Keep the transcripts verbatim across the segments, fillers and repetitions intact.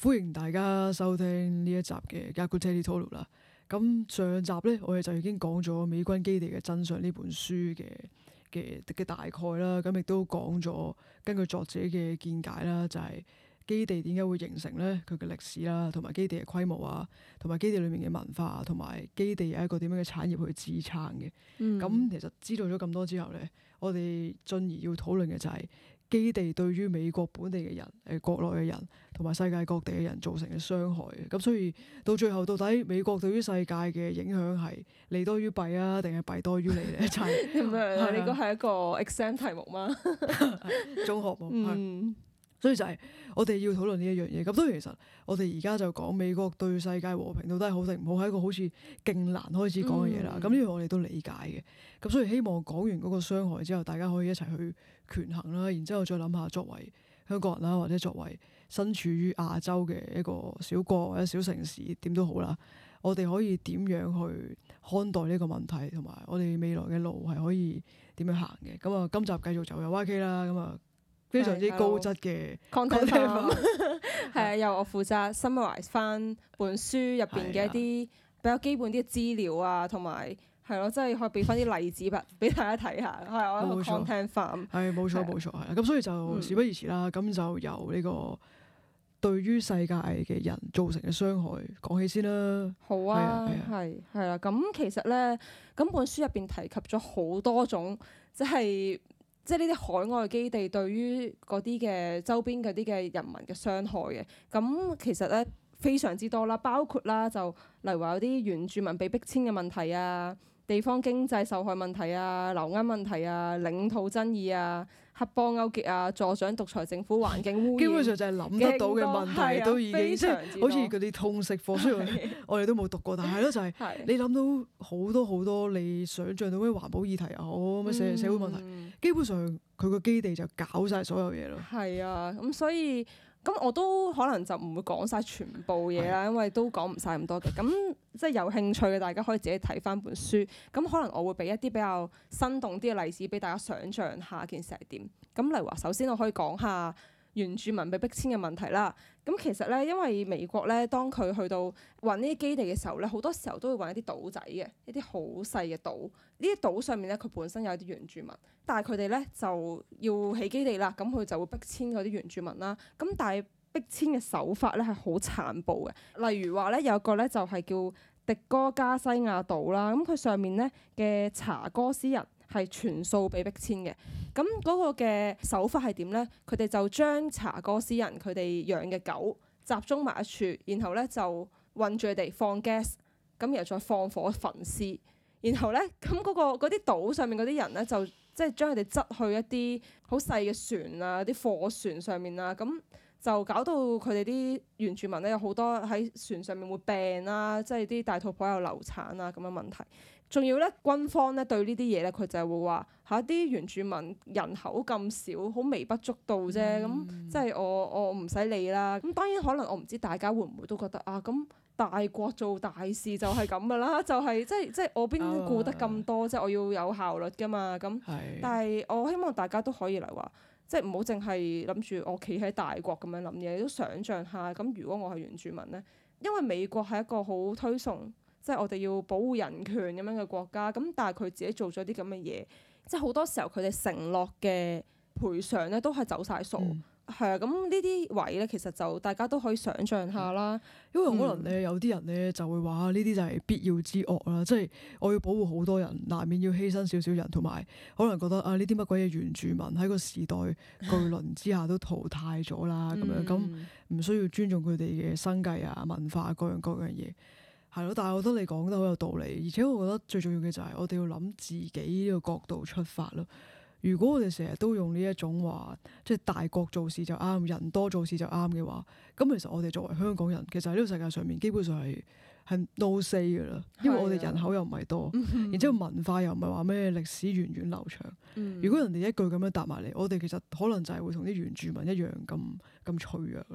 歡迎大家收聽呢一集嘅《Gaku Teli Tolu》啦。咁上集咧，我哋就已經講咗《美軍基地嘅真相》呢本書嘅嘅嘅大概啦。咁亦都講咗根據作者嘅見解啦，就係、是、基地點解會形成咧，佢嘅歷史啦，同埋基地嘅規模啊，同埋基地裏面嘅文化，同埋基地有一個點樣嘅產業去支撐嘅。咁、嗯、其實知道咗咁多之後咧，我哋進而要討論嘅就係、是。基地對於美國本地嘅人、誒國內嘅人同埋世界各地嘅人造成嘅傷害嘅，咁所以到最後到底美國對於世界嘅影響係利多於弊啊，定係弊多於利咧？就係咁樣，呢個係一個 exam 題目嗎？ 中學冇， 嗯， 所以就係我哋要討論呢一樣嘢。咁當然其實我哋而家就講美國對世界和平到底係好定唔好，係一個好似勁難開始講嘅嘢啦。咁呢樣我哋都理解嘅。咁所以希望講完嗰個傷害之後，大家可以一齊去權衡啦，然之後再諗下作為香港人啦，或者作為身處於亞洲嘅一個小國或者小城市，點都好啦，我哋可以點樣去看待呢個問題，同埋我哋未來嘅路係可以點樣行嘅。咁啊，今集繼續就有 Y K 啦，咁啊非常之高質嘅 content 係啊，由我負責 summarize 翻本書入邊嘅一啲比較基本啲嘅資料啊，同埋。係咯，即係可以俾翻啲例子俾大家睇下，係我一個 content farm。 係冇錯冇錯，係咁，所以就事不宜遲啦。咁、嗯、就由呢個對於世界嘅人造成嘅傷害講起先啦。 好啊，係係啦。咁其實咧，咁本書入邊提及咗好多種，即係即係呢啲海外基地對於嗰啲嘅周邊嗰啲嘅人民嘅傷害嘅。咁其實咧非常之多啦，包括啦就例如話有啲原住民被逼遷嘅問題啊。地方經濟受害問題啊、流鶯問題啊、領土爭議啊、黑幫勾結啊、助長獨裁政府、環境污染， 基本上就係諗得到嘅問題都已經即係好似嗰啲通識課，雖然我哋都冇讀過，但係咯就係你諗到好多好多你想像到嘅環保議題又好，咩社社會問題，嗯、基本上佢個基地就搞晒所有嘢咯。係啊，咁所以。咁我都可能就唔會講晒全部嘢啦，因為都講唔晒咁多嘅。咁即係有興趣嘅，大家可以自己睇翻本書。咁可能我會俾一啲比較生動啲嘅例子俾大家想像下件事係點。咁例如話，首先我可以講下原住民被逼遷嘅問題啦。咁其實咧，因為美國咧，當佢去到揾呢啲基地嘅時候咧，好多時候都會揾一啲島仔嘅，一啲好細嘅島。呢啲島上面咧，佢本身有啲原住民，但係佢哋咧就要起基地啦，咁佢就會逼遷嗰啲原住民啦。咁但係逼遷嘅手法咧係好殘暴嘅，例如話咧有個咧就係叫迪哥加西亞島啦，咁佢上面咧嘅查哥斯人係全數被逼遷嘅。咁嗰個嘅手法係點咧？佢哋就將查哥斯人佢哋養嘅狗集中埋一處，然後咧就韞住佢哋放 gas，咁然後再放火焚屍，然後咧咁嗰個嗰啲島上面嗰啲人咧就即係將佢哋執去一啲好細嘅船啊、啲貨船上面啊，咁就搞到佢哋啲原住民咧有好多喺船上面會病啦，即係啲大肚婆又流產啊咁嘅問題。仲要咧，軍方咧對呢啲嘢咧，佢就係會話嚇啲原住民人口咁少，好微不足道啫。咁、嗯、即係我我唔使理啦。咁當然可能我唔知大家會唔會都覺得啊，咁大國做大事就係咁噶啦，就係、是、即係即係我邊顧得咁多，即係、啊、我要有效率噶嘛。咁是但係我希望大家都可以嚟話，即係唔好淨係諗住我企喺大國咁樣諗嘢，都想像下咁如果我係原住民咧，因為美國係一個好推崇。即係我哋要保護人權咁樣嘅國家，咁但係佢自己做咗啲咁嘅嘢，即係好多時候佢哋承諾嘅賠償咧都係走晒數，係啊、嗯，咁呢啲位咧其實就大家都可以想像下啦。 因為可能咧有啲人咧就會話呢啲就係必要之惡啦，即係我要保護好多人，難免要犧牲少少人，同埋可能覺得啊呢啲乜鬼嘢原住民喺個時代巨輪之下都淘汰咗啦，咁、嗯、樣咁唔需要尊重佢哋嘅生計啊、文化各樣各樣嘢。係咯，但係我覺得你講得好有道理，而且我覺得最重要嘅就係我哋要諗自己呢個角度出發咯。如果我哋成日都用呢一種話，即係大國做事就啱，人多做事就啱嘅話，咁其實我哋作為香港人，其實喺呢個世界上面基本上係係 no say 㗎啦，因為我哋人口又唔係多，的然之後文化又唔係話咩歷史源遠流長。嗯、如果人哋一句咁樣答埋嚟，我哋其實可能就係會同啲原住民一樣咁咁脆弱咯。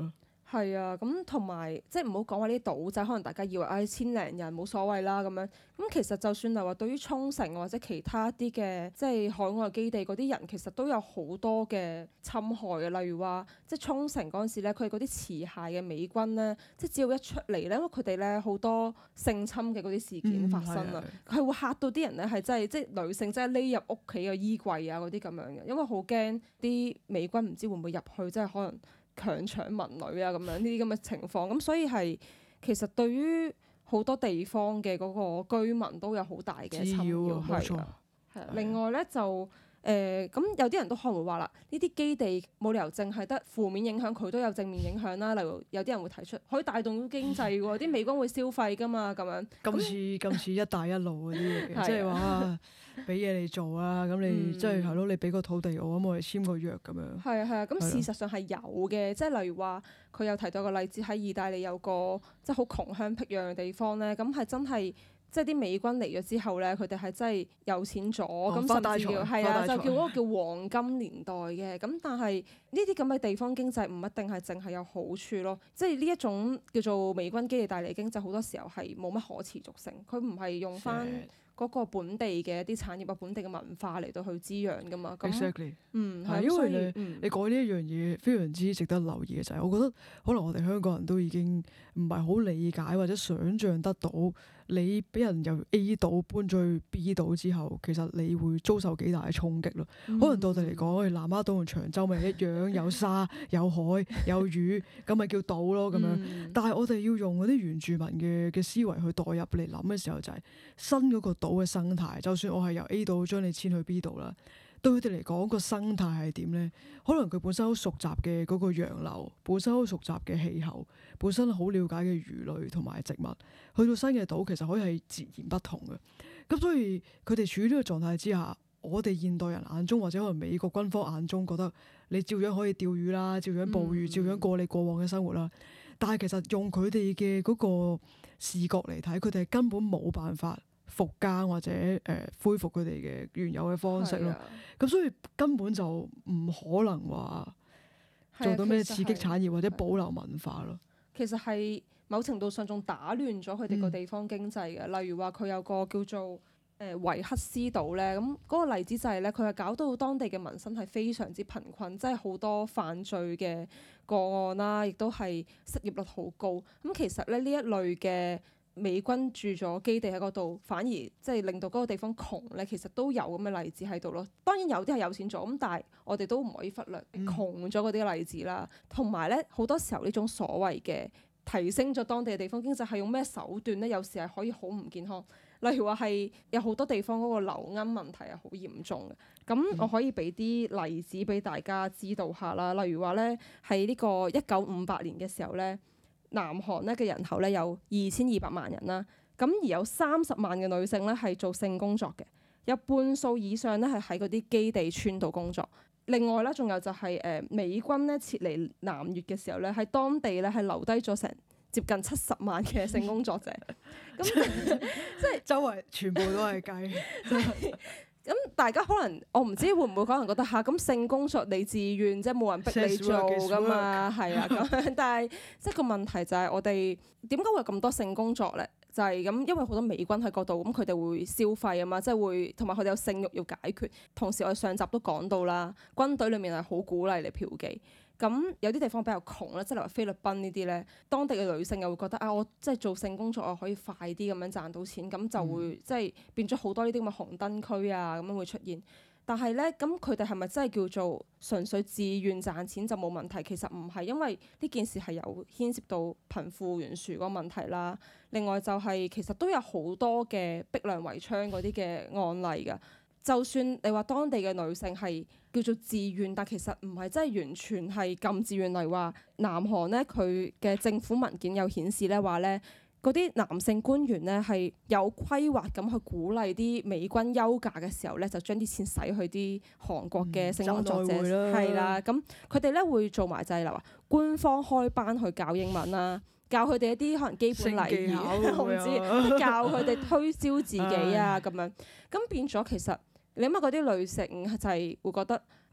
係啊，咁同埋即係唔好講話呢啲島仔，可能大家以為唉、哎、千零人冇所謂啦咁樣。咁其實就算係話對於沖繩或者其他啲嘅即係海外基地嗰啲人，其實都有好多嘅侵害嘅。例如話即係沖繩嗰陣時咧，佢哋嗰啲持械嘅美軍咧，即係只要一出嚟咧，因為佢哋咧好多性侵嘅嗰啲事件發生啊，佢係、嗯、會嚇到啲人咧係真係即係女性真係匿入屋企嘅衣櫃啊嗰啲咁樣嘅，因為好驚啲美軍唔知會唔會入去，即係可能強搶民女啊咁樣呢啲咁嘅情況，咁所以係其實對於好多地方嘅嗰個居民都有好大嘅侵擾，係啊，係啊。另外咧就誒咁、呃、有啲人都可能會話啦，呢啲基地冇理由淨係得負面影響，佢都有正面影響啦。例如有啲人會提出可以帶動到經濟喎，啲美軍會消費㗎嘛咁樣。 咁似咁似一帶一路嗰啲嘢，即係話俾嘢你做啊，咁你即係係咯，你俾個土地我，咁我哋簽個約咁樣。 係啊係啊，咁事實上係有嘅，即係例如話佢有提到個例子喺意大利有個即係好窮鄉僻壤嘅地方咧，咁係真係。即係啲美軍嚟咗之後咧，佢哋係真係有錢咗，咁、哦、甚至叫係啊，就叫嗰個叫黃金年代嘅。咁但係呢啲咁嘅地方經濟唔一定係淨係有好處咯。即係呢一種叫做美軍基地帶嚟經濟，好多時候係冇乜可持續性。佢唔係用翻嗰個本地嘅一啲產業啊、本地嘅文化嚟到去滋養噶嘛。咁 Exactly. 嗯係， 因為你、 嗯、 你講呢一樣嘢非常之值得留意嘅就係，我覺得可能我哋香港人都已經唔係好理解或者想像得到。你俾人由 A 島搬咗去 B 島之後，其實你會遭受幾大嘅衝擊咯。嗯、可能對我哋嚟講，南丫島同長洲咪一樣，有沙、有海、有魚，咁咪叫島咯咁樣。嗯、但係我哋要用嗰啲原住民嘅嘅思維去代入嚟諗嘅時候，就係、是、新嗰個島嘅生態。就算我係由 A 島將你遷去 B 島啦。對佢哋嚟講，個生態係點咧？可能佢本身好熟習嘅嗰個洋流，本身好熟習嘅氣候，本身好了解嘅魚類同埋植物，去到新嘅島其實可以係截然不同嘅。咁所以佢哋處於呢個狀態之下，我哋現代人眼中或者可能美國軍方眼中覺得你照樣可以釣魚啦，照樣捕魚，照樣過你過往嘅生活啦。但係其實用佢哋嘅嗰個視覺嚟睇，佢哋係根本冇辦法復耕或者誒、呃、恢復佢哋嘅原有嘅方式咯，咁、啊、所以根本就唔可能話做到咩刺激產業或者保留文化咯。 其實係某程度上仲打亂咗佢哋個地方經濟嘅，嗯、例如話佢有個叫做誒、呃、維克斯島咧，咁嗰個例子就係咧，佢係搞到當地嘅民生係非常之貧困，即係好多犯罪嘅個案啦，亦都係失業率好高。咁其實咧呢一類嘅美軍駐咗基地喺嗰度，反而即係令到嗰個地方窮咧，其實都有咁嘅例子喺度咯。當然有啲係有錢咗，咁但係我哋都唔可以忽略窮咗嗰啲例子啦。同埋咧，好多時候呢種所謂嘅提升咗當地嘅地方經濟係用咩手段咧？有時係可以好唔健康。例如話係有好多地方嗰個流鶯問題係好嚴重嘅。咁我可以俾啲例子俾大家知道下啦。例如話咧，喺呢個一九五八年嘅時候咧。南韓咧嘅人口咧有二千二百萬人啦，咁而有三十萬嘅女性咧係做性工作嘅，有半數以上咧係喺嗰啲基地村度工作。另外咧，仲有就係、是、誒、呃、美軍咧撤離南越嘅時候咧，喺當地咧係留低咗成接近七十萬嘅性工作者。咁即係周圍全部都係雞。咁大家可能我唔知會唔會可能覺得嚇咁、啊、性工作你自願，即係冇人逼你做噶嘛，係啊咁樣。但係即係個問題就係我哋點解會有咁多性工作咧？就係、是、咁，因為好多美軍喺嗰度，咁佢哋會消費啊嘛，即係會同埋佢哋有性慾要解決。同時我哋上集都講到啦，軍隊裡面係好鼓勵你嫖妓。咁有啲地方比較窮啦，即係例如菲律賓呢啲咧，當地嘅女性又會覺得啊，我即係做性工作我可以快啲咁樣賺到錢，咁就會、嗯、即係變咗好多呢啲咁嘅紅燈區啊咁樣會出現。但係咧，咁佢哋係咪真係叫做純粹自願賺錢就冇問題？其實唔係，因為呢件事係有牽涉到貧富懸殊嗰個問題啦。另外就係、是、其實都有好多嘅逼良為娼嗰啲嘅案例㗎。就算你話當地嘅女性係叫做自願，但其實唔係真係完全係咁自願。例如話南韓咧，佢嘅政府文件有顯示咧話咧，嗰啲男性官員咧係有規劃咁去鼓勵啲美軍休假嘅時候咧，就將啲錢使去啲韓國嘅性工作者係啦。咁佢哋咧會做埋就係話官方開班去教英文啦，教佢哋一啲可能基本禮儀，我唔知教佢哋推銷自己啊咁樣。咁變咗其實。你諗下嗰啲女性就係會覺得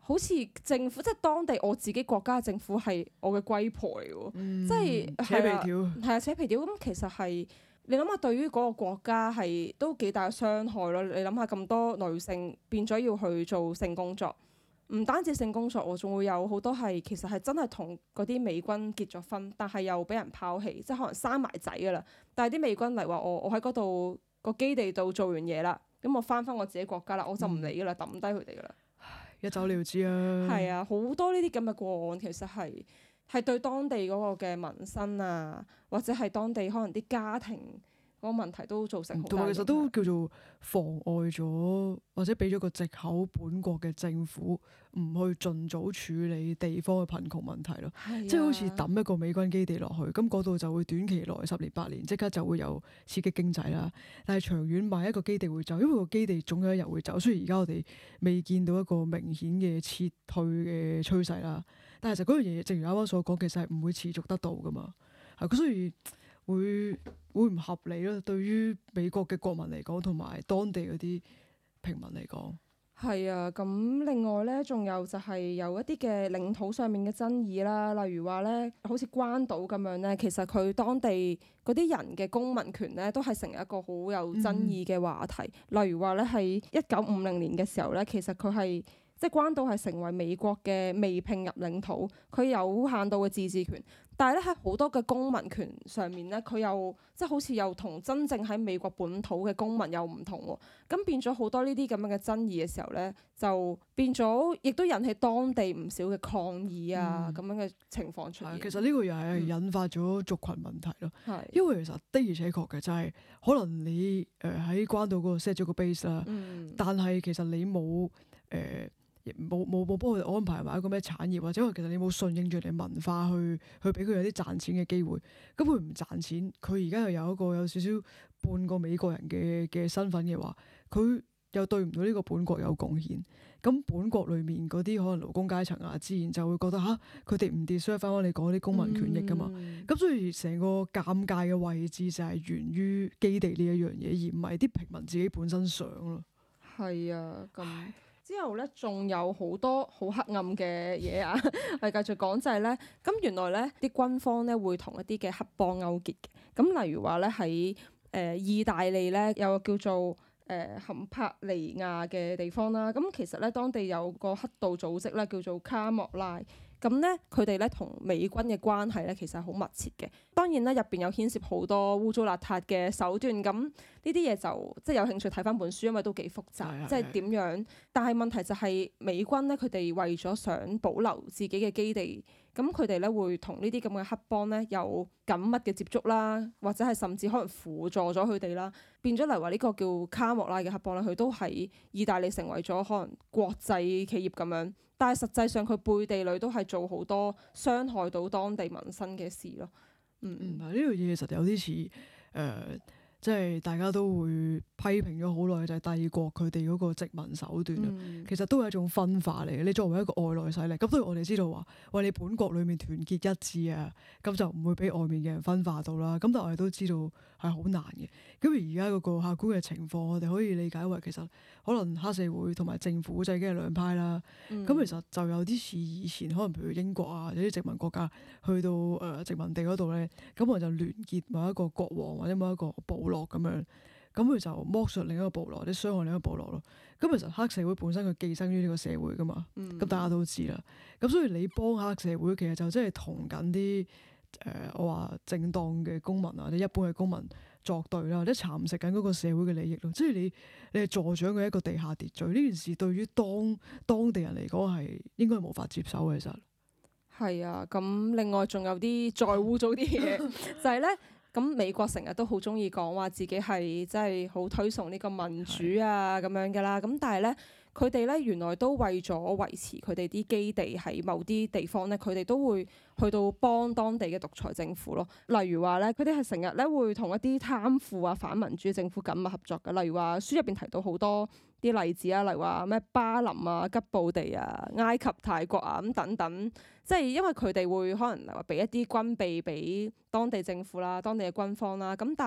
好似政府即係當地我自己國家嘅政府係我嘅龜婆嚟喎， 嗯即係扯皮條。 係啊扯皮條咁，其實係你諗下對於嗰個國家係都幾大嘅傷害咯。你諗下咁多女性變咗要去做性工作。唔單止性工作喎，仲會有好多係其實係真係同嗰啲美軍結咗婚，但係又俾人拋棄，即係可能生埋仔㗎啦。但係啲美軍嚟話我我喺嗰度個基地度做完嘢啦，咁我翻返我自己國家啦，我就唔理㗎啦，抌低佢哋㗎啦。 一走了之啊！ 係啊，好多呢啲咁嘅個案，其實係係對當地嗰個嘅民生啊，或者係當地可能啲家庭嗰個問題都造成好大影響。 同埋其實都叫做妨礙咗，或者俾咗個藉口，本國嘅政府唔去盡早處理地方嘅貧窮問題咯。 係啊即係好似抌一個美軍基地落去，咁嗰度就會短期內十年八年即刻就會有刺激經濟啦。但係長遠買一個基地會走，因為個基地總有一日會走。雖然而家我哋未見到一個明顯嘅撤退嘅趨勢啦，但係就嗰樣嘢，正如啱啱所講，其實係唔會持續得到噶嘛。係，所以會會唔合理咯？對於美國嘅國民嚟講，同埋當地嗰啲平民嚟講。 係啊，咁另外咧，仲有就係有一啲嘅領土上面嘅爭議啦，例如話咧，好似關島咁樣咧，其實佢當地嗰啲人嘅公民權咧，都係成為一個好有爭議嘅話題。嗯、例如話咧，喺一九五零年嘅時候咧，其實佢係即係關島係成為美國嘅未併入領土，佢有限度嘅自治權。但係咧，喺好多嘅公民權上面咧，佢又即係好似又同真正喺美國本土嘅公民又唔同喎。咁變咗好多呢啲咁樣嘅爭議嘅時候咧，就變咗亦都引起當地唔少嘅抗議啊咁、嗯、樣嘅情況出現。 其實呢個又係引發咗族群問題咯。 係、嗯， 因為其實的而且確嘅就係、是、可能你誒喺關島嗰度 set 咗個 base 啦， 嗯、但係其實你冇誒。呃冇冇冇幫佢哋安排埋一個咩產業，或者話其實你冇順應住你文化去去俾佢有啲賺錢嘅機會，咁佢唔賺錢，佢而家又有一個有少少半個美國人嘅嘅身份嘅話，佢又對唔到呢個本國有貢獻，咁本國裡面嗰啲可能勞工階層啊，自然就會覺得吓，佢哋唔 deserve 翻你講啲公民權益㗎嘛，咁、嗯、所以成個尷尬嘅位置就係源於基地呢一樣嘢，而唔係啲平民自己本身想咯。 係啊，咁。之後咧，仲有好多好黑暗嘅嘢啊！我哋繼續講就係咧，咁原來咧啲軍方咧會同一啲嘅黑幫勾結嘅。咁例如話咧喺誒意大利咧有個叫做誒坎帕尼亞嘅地方啦。咁其實咧當地有個黑道組織咧叫做卡莫拉。咁咧佢哋咧同美軍嘅關係咧其實係好密切嘅。當然咧入邊有牽涉好多污糟邋遢嘅手段。咁呢啲嘢就即係有興趣睇翻本書，因為都幾複雜，即係點樣？但係問題就係美軍咧，佢哋為咗想保留自己嘅基地，咁佢哋咧會同呢啲咁嘅黑幫咧有緊密嘅接觸啦，或者係甚至可能輔助咗佢哋啦，變咗嚟話呢個叫卡莫拉嘅黑幫咧，佢都喺意大利成為咗可能國際企業咁樣。但係實際上佢背地裏都係做好多傷害到當地民生嘅事咯。嗯嗯， 呢樣嘢其實有啲似誒。呃即係大家都會批評咗好耐，就係帝國佢哋嗰個殖民手段啊，嗯、其實都係一種分化嚟嘅。你作為一個外來勢力，咁當然我哋知道話，喂，你本國裡面團結一致啊，咁就唔會俾外面嘅人分化到啦。咁但係我哋都知道係好難嘅。咁而家嗰個客觀嘅情況，我哋可以理解為其實可能黑社會同埋政府就已經係兩派啦。咁、嗯、其實就有啲似以前可能譬如英國啊，有啲殖民國家去到誒、呃、殖民地嗰度咧，咁我就聯結某一個國王或者某一個部落咁樣，咁佢就剝削另一個部落或者傷害另一個部落咯。咁其實黑社會本身佢寄生於呢個社會噶嘛，咁、嗯、大家都知啦。咁所以你幫黑社會，其實就真係同緊啲誒我話正當嘅公民啊，或者一般嘅公民作對啦，或者蠶食緊嗰個社會嘅利益咯。即係你你係助長嘅一個地下秩序，呢件事對於當當地人嚟講係應該無法接受嘅。其實係啊，咁另外仲有啲再污糟啲嘢，就係咧。咁美國成日都好中意講話自己係真係好推崇呢個民主啊咁樣㗎啦，咁但係咧佢哋咧原來都為咗維持佢哋啲基地喺某啲地方咧，佢哋都會去到幫當地嘅獨裁政府咯。例如話咧，佢哋係成日咧會同一啲貪腐啊反民主政府緊密合作嘅。例如話書入邊提到好多啲例子啊，例如話咩巴林啊、吉布地啊、埃及、泰國啊咁等等，即係因為佢哋會可能話俾一啲軍備俾當地政府啦、當地嘅軍方啦，咁但係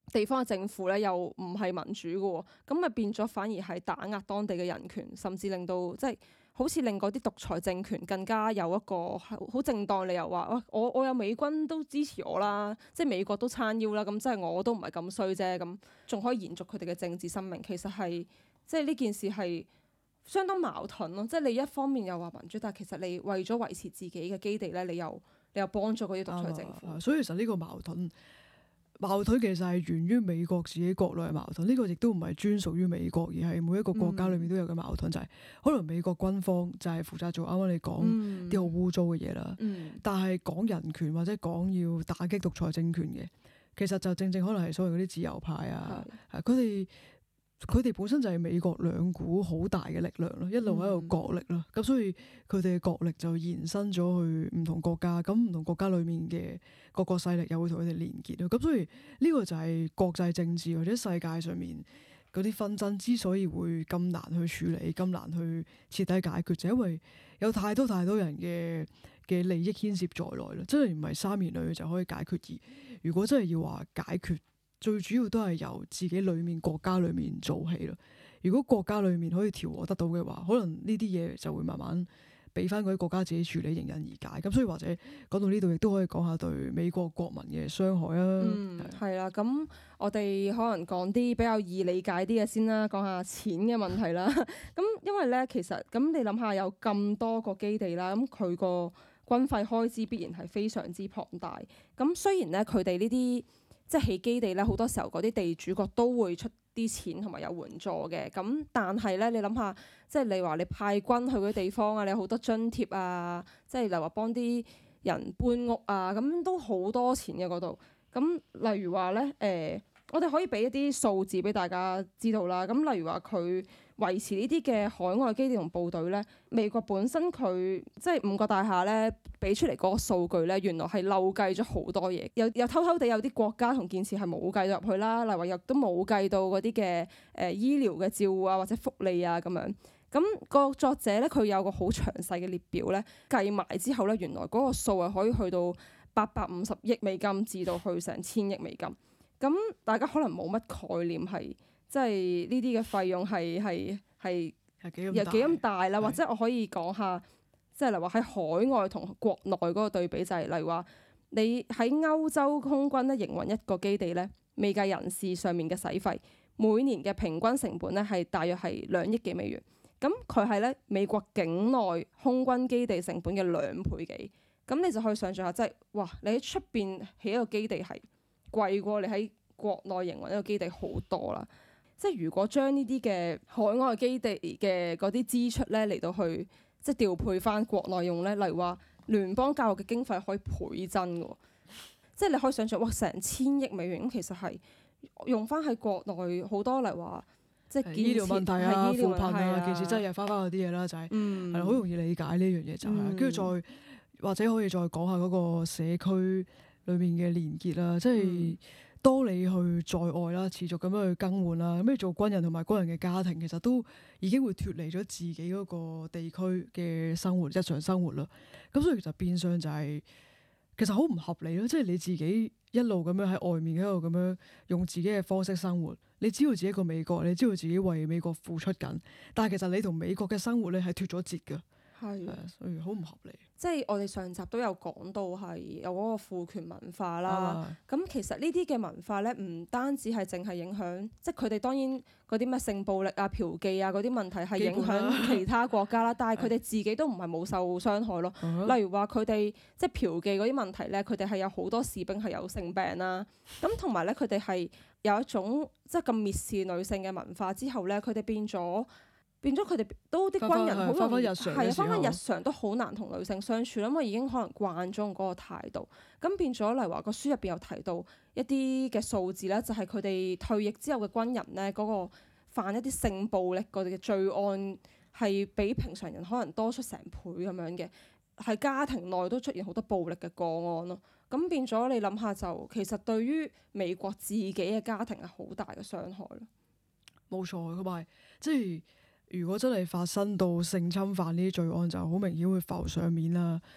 地方嘅政府咧又唔係民主嘅喎，咁咪變咗反而係打壓當地嘅人權，甚至令到即係好似令嗰啲獨裁政權更加有一個好正當理由話，哇！我我有美軍都支持我啦，即係美國都撐腰啦，咁即係我都唔係咁衰啫，咁仲可以延續佢哋嘅政治生命。其實係即係呢件事係相當矛盾咯，即係你一方面又話民主，但係其實你為咗維持自己嘅基地咧，你又你又幫咗嗰啲獨裁政府。 所以其實呢個矛盾。矛盾其實係源於美國自己國內嘅矛盾，呢、這個亦都唔係專屬於美國，而係每一個國家裏面都有嘅矛盾，嗯、就係可能美國軍方就係負責做啱啱你講啲好污糟嘅嘢啦， 嗯、 但係講人權或者講要打擊獨裁政權嘅，其實就正正可能係所謂嗰啲自由派啊，佢哋佢哋本身就係美國兩股好大嘅力量咯，一路喺度角力咯，咁、嗯、所以佢哋嘅角力就延伸咗去唔同國家，咁唔同國家裏面嘅各個勢力又會同佢哋連結咯，咁所以呢個就係國際政治或者世界上面嗰啲紛爭之所以會咁難去處理、咁難去徹底解決，就因為有太多太多人嘅嘅利益牽涉在內啦，真係唔係三言兩語就可以解決。而如果真係要話解決，最主要都係由自己裏面國家裏面做起咯。如果國家裏面可以調和得到嘅話，可能呢啲嘢就會慢慢俾翻嗰啲國家自己處理，迎刃而解。咁所以或者講到呢度，亦都可以講下對美國國民嘅傷害啊。 嗯，係啦。咁我哋可能講啲比較易理解啲嘅先啦，講下錢嘅問題啦。咁因為咧，其實咁你諗下有咁多個基地啦，咁佢個軍費開支必然係非常之龐大。咁雖然咧，佢哋呢啲即係起基地咧，好多時候嗰啲地主國都會出啲錢同埋有援助嘅，咁但係咧，你諗下，即係你話你派軍去嗰啲地方啊，你有好多津貼啊，即係例如話幫啲人搬屋啊，咁都好多錢嘅嗰度。咁例如話咧，誒、呃，我哋可以俾一啲數字俾大家知道啦。咁例如話佢維持呢啲嘅海外基地同部隊咧，美國本身佢即係五角大廈咧俾出嚟嗰個數據咧，原來係漏計咗好多嘢，又又偷偷地有啲國家同建設係冇計到入去啦，例如話又都冇計到嗰啲嘅誒醫療嘅照顧啊或者福利啊咁樣。咁個作者咧佢有個好詳細嘅列表咧，計埋之後咧，原來嗰個數係可以去到八百五十億美金至到去成千億美金。咁大家可能冇乜概念係，即係呢啲嘅費用係係係又幾咁大啦，或者我可以講下，即係例如話喺海外同國內嗰個對比，就係例如話你喺歐洲空軍咧營運一個基地咧，未計人事上面嘅使費，每年嘅平均成本咧係大約係兩億幾美元。咁佢係咧美國境內空軍基地成本嘅兩倍幾。咁你就可以想象下，即係哇！你喺出邊起一個基地係貴過你喺國內營運一個基地好多啦。即係如果將呢啲嘅海外基地嘅嗰啲支出咧嚟到去即係調配翻國內用咧，例如話聯邦教育嘅經費可以倍增嘅，即係你可以想象哇，成千億美元咁，其實係用翻喺國內好多，例如話即係醫療問題啊、扶貧啊，其實真係又翻翻嗰啲嘢啦，就係係好容易理解呢樣嘢就係，跟住、嗯、再或者可以再講下嗰個社區裏面嘅連結啦，即係。嗯當你去在外啦，持續咁樣去更換啦，咁你做軍人同埋軍人嘅家庭，其實都已經會脫離咗自己嗰個地區嘅生活、日常生活啦。咁所以其實變相就係、是、其實好唔合理咯。即係你自己一路咁樣喺外面喺度咁樣用自己嘅方式生活，你知道自己一個美國，你知道自己為美國付出緊，但係其實你同美國嘅生活咧係脫咗節㗎。係啊，所以好唔合理。 即係我哋上集都有講到係有嗰個父權文化啦。咁、啊、其實呢啲嘅文化咧，唔單止係淨係影響，即係佢哋當然嗰啲咩性暴力啊、嫖妓啊嗰啲問題係影響其他國家啦。但係佢哋自己都唔係冇受傷害咯。啊、例如話佢哋即係嫖妓嗰啲問題咧，佢哋係有好多士兵係有性病啦。咁同埋咧，佢哋係有一種即係咁蔑視女性嘅文化之後咧，佢哋變咗。變咗佢哋都啲軍人好容易係啊，翻返日常都好難同女性相處啦，因為已經可能慣咗嗰個態度。咁變咗，例如話個書入邊有提到一啲嘅數字咧，就係佢哋退役之後嘅軍人咧，嗰個犯一啲性暴力嗰啲嘅罪案係比平常人可能多出成倍咁樣嘅，係家庭內都出現好多暴力嘅個案咯。咁變咗你諗下，就其實對於美國自己嘅家庭係好大嘅傷害咯。 冇錯，同埋即係。如果真係發生到性侵犯呢啲罪案，就好明顯會浮上面啦。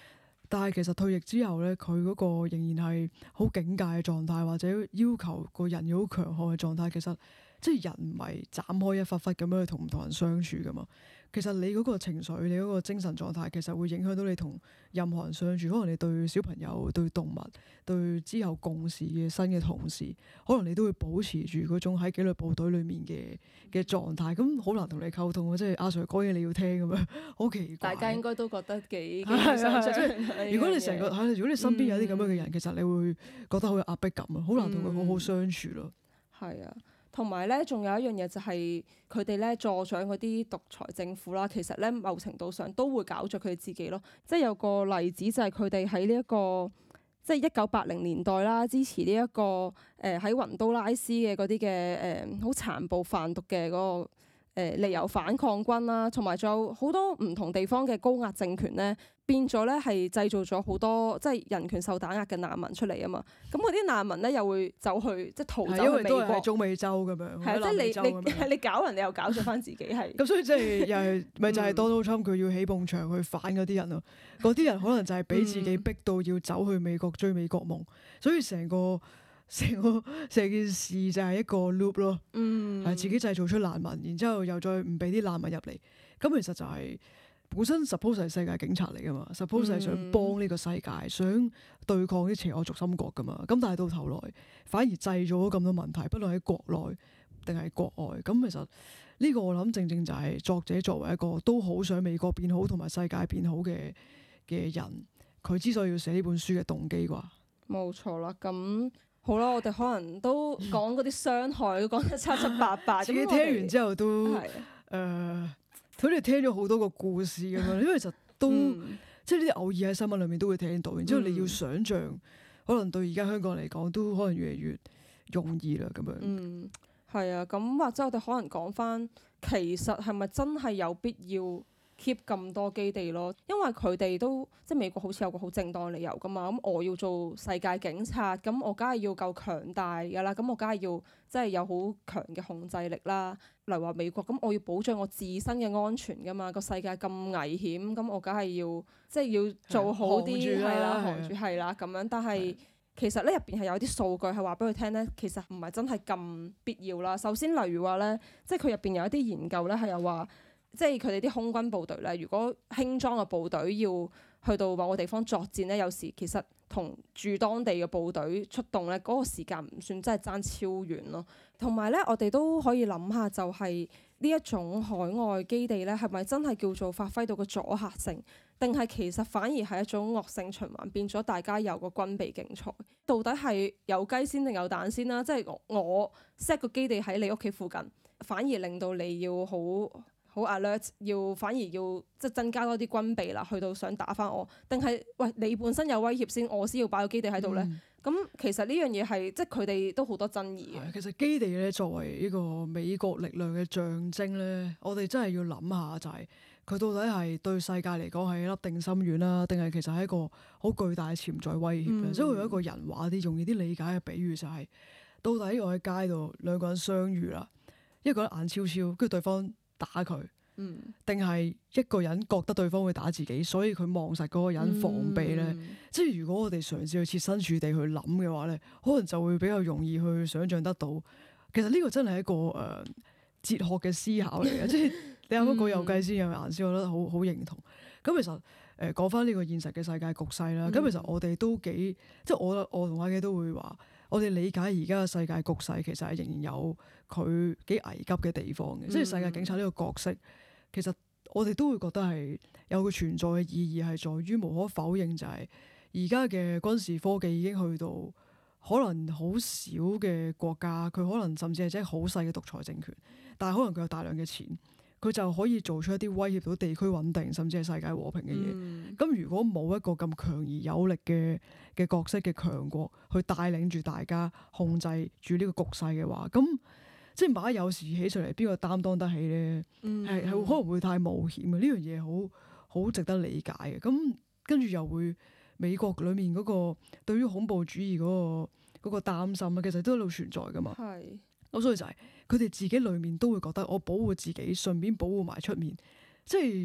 但係其實退役之後咧，佢嗰個仍然係好警戒嘅狀態，或者要求個人要好強悍嘅狀態。其實即係人唔係斬開一忽忽咁樣去同唔同人相處噶嘛。其實你嗰個情緒、你嗰個精神狀態，其實會影響到你同任何人相處。可能你對小朋友、對動物、對之後共事嘅新嘅同事，可能你都會保持住嗰種喺紀律部隊裡面嘅嘅狀態。咁好難同你溝通啊！即係阿 Sir 講嘢你要聽咁樣，好奇怪。 大家應該都覺得幾幾係係相係像。 如果你成個係，如果你身邊有啲咁樣嘅人， 嗯其實你會覺得好有壓迫感啊，好難同佢好好相處咯。 係啊。同埋咧，仲有一樣嘢就係佢哋咧助長嗰啲獨裁政府啦，其實咧某程度上都會搞着佢哋自己咯。即係有個例子就係佢哋喺呢一個即係一九八零年代啦，支持呢、這、一個誒喺雲都拉斯嘅嗰啲嘅誒好殘暴販毒嘅嗰、那個誒利由反抗軍啦，同埋仲有好多唔同地方嘅高壓政權咧，變咗咧係製造咗好多即係人權受打壓嘅難民出嚟啊嘛。咁嗰啲難民咧又會走去即係逃走係因為去美國都係喺。中美洲咁樣， 係啊，即係喺南美洲咁樣你你你搞人，你又搞咗翻自己係。 咁所以即係又係咪就係嗯 Donald Trump 佢要起埲牆去反嗰啲人咯？嗰啲人可能就係俾自己逼到要走去美國追美國夢，所以成個成個成件事就係一個 loop 咯， 嗯， 係自己製造出難民，然之後又再唔俾啲難民入嚟，咁其實就係本身 suppose 係世界警察嚟噶嘛，suppose 係想幫呢個世界，想對抗啲邪惡軸心國噶嘛，咁但係到頭來反而製造咗咁多問題，不論喺國內定係國外，咁其實呢個我諗正正就係作者作為一個都好想美國變好同埋世界變好嘅嘅人，佢之所以要寫呢本書嘅動機啩。 冇錯啦。咁好啦，我哋可能都講嗰啲傷害都講得七七八八。 自己聽完之後都係誒，佢哋聽咗好多個故事咁樣，因為其實都、 嗯即係呢啲偶爾喺新聞裏面都會聽到，然之後你要想像，可能對而家香港嚟講都可能越嚟越容易啦咁樣。 嗯，係啊。咁或者我哋可能講翻，其實係咪真係有必要 keep 咁多基地咯？因為佢哋都即係美國好似有個好正當理由噶嘛。咁我要做世界警察，咁我梗係要夠強大㗎啦。咁我梗係要即係有好強嘅控制力啦。例如話美國，咁我要保障我自身嘅安全㗎嘛。個世界咁危險，咁我梗係要即係要做好啲，係啦，行住係啦咁樣。但係其實咧入邊係有啲數據係話俾佢聽咧，其實唔係真係咁必要啦。首先例如話咧，即係佢入邊有一啲研究咧係有話。即係佢哋啲空軍部隊咧，如果輕裝嘅部隊要去到某個地方作戰咧，有時其實同駐當地嘅部隊出動咧，嗰個時間唔算真係爭超遠咯。同埋咧，我哋都可以諗下，就係呢一種海外基地咧，係咪真係叫做發揮到個阻嚇性，定係其實反而係一種惡性循環，變咗大家有個軍備競賽，到底係有雞先定有蛋先啦？即係我 set 個基地喺你屋企附近，反而令到你要好。好 alert，要反而要即係增加多啲軍備啦，去到想打返我，定係喂你本身有威脅先，我先要擺個基地喺度咧？咁、嗯、其實呢樣嘢係即係佢哋都好多爭議嘅。 其實基地咧作為呢個美國力量嘅象徵咧，我哋真係要諗下就係、是、佢到底係對世界嚟講係一粒定心丸啦，定係其實係一個好巨大嘅潛在威脅咧？即係、嗯、用一個人話啲容易啲理解嘅比喻就係、是，到底我喺街度兩個人相遇啦，一個人眼超超，跟住對方打佢，定係、嗯、一個人覺得對方會打自己，所以佢望實嗰個人防備咧。嗯、即係如果我哋嘗試去設身處地去諗嘅話咧，可能就會比較容易去想像得到。其實呢個真係一個誒、呃、哲學嘅思考嚟嘅，即係你啱啱講有雞先有顏先，我覺得好好認同。咁其實誒講翻呢個現實嘅世界局勢啦，咁、嗯、其實我哋都幾即係我我同阿基都會話。我哋理解而家嘅世界局勢其實係仍然有佢幾危急嘅地方嘅，嗯、即係世界警察呢個角色，其實我哋都會覺得係有佢存在嘅意義，係在於無可否認就係而家嘅軍事科技已經去到可能好少嘅國家，佢可能甚至係即係好細嘅獨裁政權，但係可能佢有大量嘅錢。佢就可以做出一啲威脅到地區穩定，甚至係世界和平嘅嘢。咁、嗯、如果冇一個咁強而有力嘅嘅角色嘅強國去帶領住大家控制住呢個局勢嘅話，咁即係萬一有時起上嚟，邊個擔當得起咧？係係、嗯、可能會太冒險嘅，呢樣嘢好好值得理解嘅。咁跟住又會美國裡面嗰個對於恐怖主義嗰個嗰個擔心啊，其實都一路存在噶嘛。 係。 咁所以就係佢哋自己裏面都會覺得我保護自己，順便保護埋出面，即係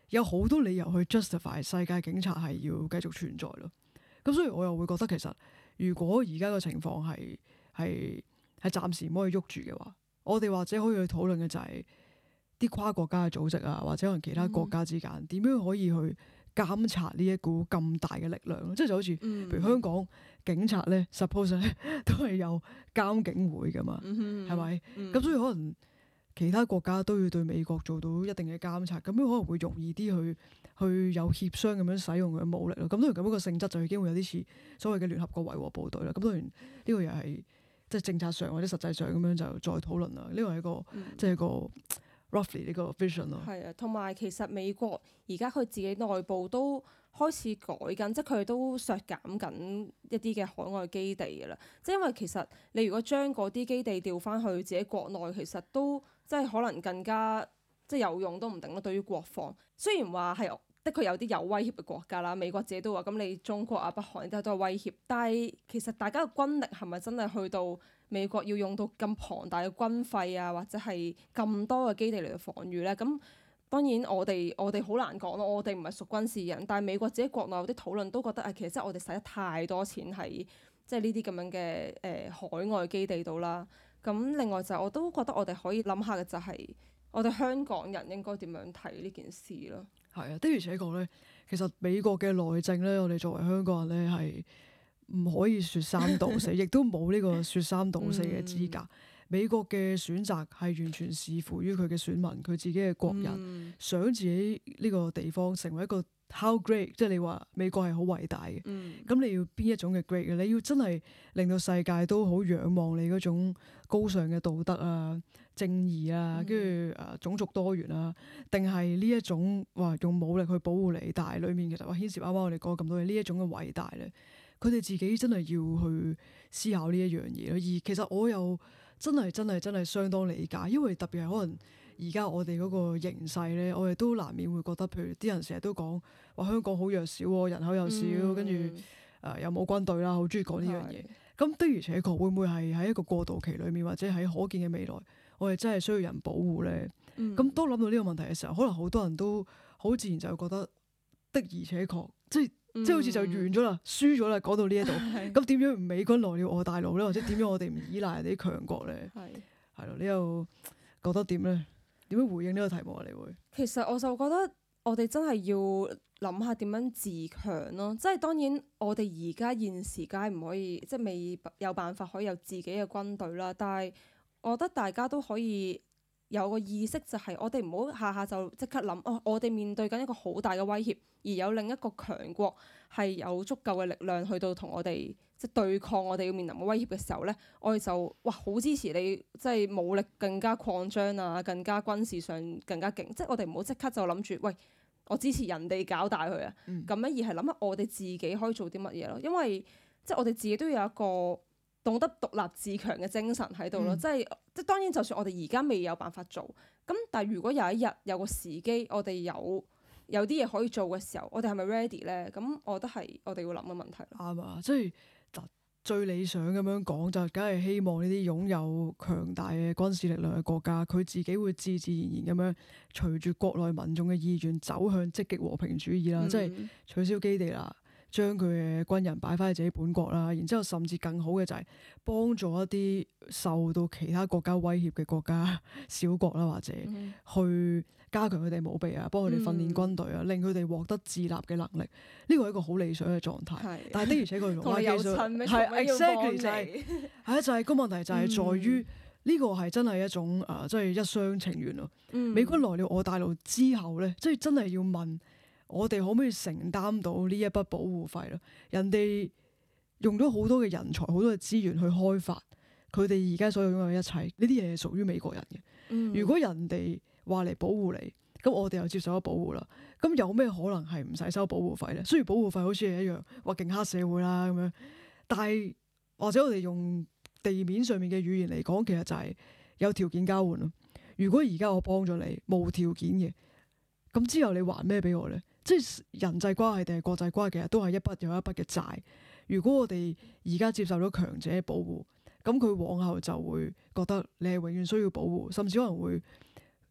有好多理由去 justify 世界警察係要繼續存在咯。咁所以我又會覺得其實如果而家個情況係係係暫時唔可以喐住嘅話，我哋或者可以去討論嘅就係啲跨國家嘅組織啊，或者可能其他國家之間點樣可以去監察呢一股咁大嘅力量，即係就好似譬如香港警察咧 suppose 咧都係有監警會噶嘛，係咪？咁所以可能其他國家都要對美國做到一定嘅監察，咁樣可能會容易啲去去有協商咁樣使用佢嘅武力咯。咁當然咁樣個性質就已經會有啲似所謂嘅聯合國維和部隊啦。咁當然呢個又係即係政策上或者實際上咁樣就再討論啦。呢個係一個、嗯、即係一個 roughly 呢個 vision 咯。 係啊，同埋其實美國而家佢自己內部都開始改緊，即係佢哋都削減緊一啲嘅海外基地㗎啦。即係因為其實你如果將嗰啲基地調翻去自己國內，其實都即係可能更加即係有用都唔定咯。對於國防，雖然話係的確有啲有威脅嘅國家啦，美國自己都話咁，你中國啊、北韓都係都係威脅，但係其實大家嘅軍力係咪真係去到美國要用到咁龐大嘅軍費啊，或者係咁多嘅基地嚟到防禦咧？咁當然我哋我哋好難講咯，我哋唔係屬軍事人，但係美國自己國內有啲討論都覺得啊，其實即係我哋使得太多錢喺即係呢啲咁樣嘅誒、呃、海外基地度啦。咁另外就我都覺得我哋可以諗下嘅就係我哋香港人應該點樣睇呢件事咯。 係啊，的而且確咧，其實美國嘅內政咧，我哋作為香港人咧係唔可以説三道四，亦都冇呢個説三道四嘅資格。嗯、美國嘅選擇係完全視乎於佢嘅選民，佢自己嘅國人、嗯、想自己呢個地方成為一個 how great，即係你話美國係好偉大嘅。咁、嗯、你要邊一種嘅 great 嘅？你要真係令到世界都好仰望你嗰種高尚嘅道德啊、正義啊，跟住誒種族多元啊，定係呢一種話用武力去保護你，但係裡面其實話牽涉啱啱我哋講咁多嘢，呢一種嘅偉大咧，佢哋自己真係要去思考呢一樣嘢咯。而其實我又真係真係真係相當理解，因為特別係可能而家我哋嗰個形勢咧，我哋都難免會覺得，譬如啲人成日都講話香港好弱小喎，人口又少，嗯、跟住誒又冇軍隊啦，好中意講呢樣嘢。咁的而且確會唔會係喺一個過渡期裏面，或者喺可見嘅未來，我哋真係需要人保護咧？咁、嗯、當諗到呢個問題嘅時候，可能好多人都好自然就會覺得的而且確，即係、嗯、即係好似就完咗啦，輸咗啦。講到呢一度，咁點樣唔美軍來了我大陸咧？或者點樣我哋唔依賴人哋啲強國咧？係係咯，你又覺得點咧？點樣回應呢個題目啊？你會其實我就覺得我哋真係要諗下點樣自強咯，即係當然我哋而家現時梗係唔可以，即係未有辦法可以有自己嘅軍隊啦。但係我覺得大家都可以有個意識，就係我哋唔好下下就即刻諗哦，我哋面對緊一個好大嘅威脅，而有另一個強國係有足夠嘅力量去到同我哋即係對抗我哋要面臨嘅威脅嘅時候咧，我哋就哇好支持你，即係武力更加擴張啊，更加軍事上更加勁。即係我哋唔好即刻就諗住喂，我支持人哋搞大佢啊，咁樣、嗯、而係諗下我哋自己可以做啲乜嘢咯。因為即係我哋自己都要有一個懂得獨立自強嘅精神喺度咯。即係即係當然，就算我哋而家未有辦法做，咁但係如果有一日有個時機，我哋有有啲嘢可以做嘅時候，我哋係咪 ready 咧？咁我覺得係我哋要諗嘅問題。 啱啊，即係最理想咁樣講，就梗係希望呢啲擁有強大嘅軍事力量嘅國家，佢自己會自自然然咁樣隨住國內民眾嘅意願走向積極和平主義啦，嗯、即係取消基地啦，將佢嘅軍人擺翻喺自己本國啦，然之後甚至更好嘅就係幫助一啲受到其他國家威脅嘅國家小國啦，或者去加強佢哋武備啊，幫佢哋訓練軍隊啊，嗯、令佢哋獲得自立嘅能力。呢個係一個好理想嘅狀態。是但係的而且確同我有親咩？係 exactly 就係係啊，就係、是、個問題就係在於呢、嗯、個係真係一種誒，即、呃、係一廂情願咯。嗯、美軍來了我大陸之後咧，即係真係要問我哋可唔可以承擔到呢一筆保護費咯？人哋用咗好多嘅人才、好多嘅資源去開發佢哋而家所有擁有嘅一切，呢啲嘢係屬於美國人嘅。嗯、如果人哋話嚟保護你，咁我哋又接受咗保護啦。咁有咩可能係唔使收保護費咧？雖然保護費好似係一樣話勁黑社會啦咁樣，但係或者我哋用地面上面嘅語言嚟講，其實就係有條件交換咯。如果而家我幫咗你，無條件嘅，咁之後你還咩俾我咧？即係人際關係定係國際關係，其實都係一筆又一筆嘅債。如果我哋而家接受咗強者嘅保護，咁佢往後就會覺得你係永遠需要保護，甚至可能會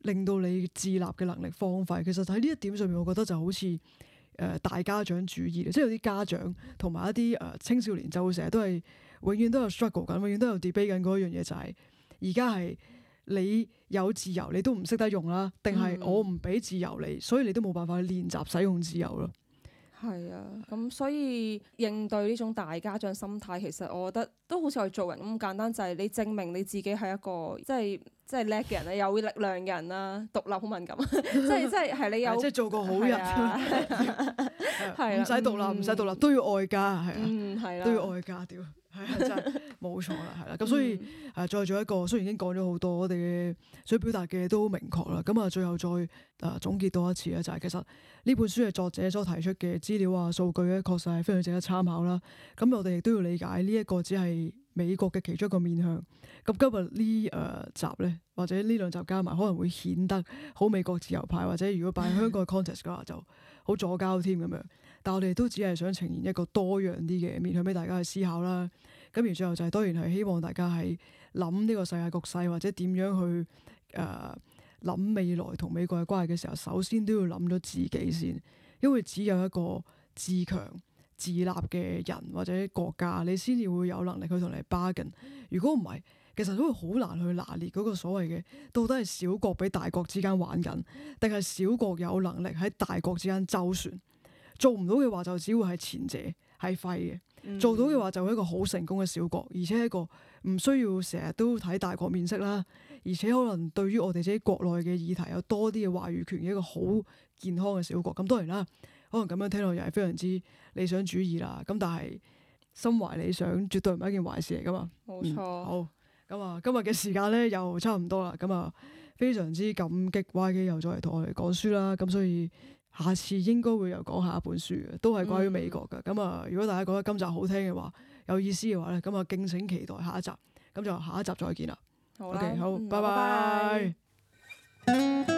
令到你自立嘅能力荒廢。其實喺呢一點上面，我覺得就好似誒、呃、大家長主義，即係有啲家長同埋一啲誒、呃、青少年就會成日都係永遠都有 struggle 緊，永遠都有 debate 緊嗰一樣嘢，就係而家係你有自由你都唔識得用啦，定係我唔俾自由你，所以你都冇辦法去練習使用自由咯。 係啊，咁所以應對呢種大家長心態，其實我覺得都好似我哋做人咁簡單，就係、是、你證明你自己係一個即係即係叻嘅人啦，有力量嘅人啦，獨立好敏感，即係即係係你有即係做個好人， 係唔使獨立，唔使獨立都要愛家，係啊， 嗯係啦， 都要愛家，屌係啊，真係冇錯啦，係啦，咁所以誒再做一個，雖然已經講咗好多，我哋嘅想表達嘅都好明確啦，咁啊最後再誒總結多一次咧，就係其實呢本書嘅作者所提出嘅資料啊、數據咧，確實係非常值得參考啦。咁我哋亦都要理解呢一個只係美國嘅其中一個面向。咁今日呢誒集咧，或者呢兩集加埋，可能會顯得好美國自由派，或者如果擺喺香港嘅 context 嘅話，就好左膠添咁樣。但我哋都只係想呈現一個多樣啲嘅面向俾大家去思考啦。咁而最後就係當然係希望大家喺諗呢個世界局勢或者點樣去誒諗、呃、未來同美國嘅關係嘅時候，首先都要諗咗自己先，因為只有一個自強自立嘅人或者國家，你先至會有能力去同你 bargain。如果唔係，其實都會好難去拿捏嗰個所謂嘅到底係小國比大國之間玩緊，定係小國有能力喺大國之間周旋。做唔到嘅話，就只會係前者係廢嘅；嗯、做到嘅話，就係一個好成功嘅小國，而且係一個唔需要成日都睇大國面色啦，而且可能對於我哋自己國內嘅議題有多啲嘅話語權嘅一個好健康嘅小國。咁當然啦，可能咁樣聽落又係非常之理想主義啦。咁但係心懷理想絕對唔係一件壞事嚟噶嘛。 冇錯、 嗯。好，咁啊，今日嘅時間咧又差唔多啦。咁啊，非常之感激 Y K 又再嚟同我哋講書啦。咁所以下次應該會有講下一本書嘅，都係關於美國嘅。咁啊、嗯，如果大家覺得今集好聽嘅話，有意思嘅話咧，咁啊敬請期待下一集。咁就下一集再見啦。 好啦， OK，好， 嗯、 拜拜。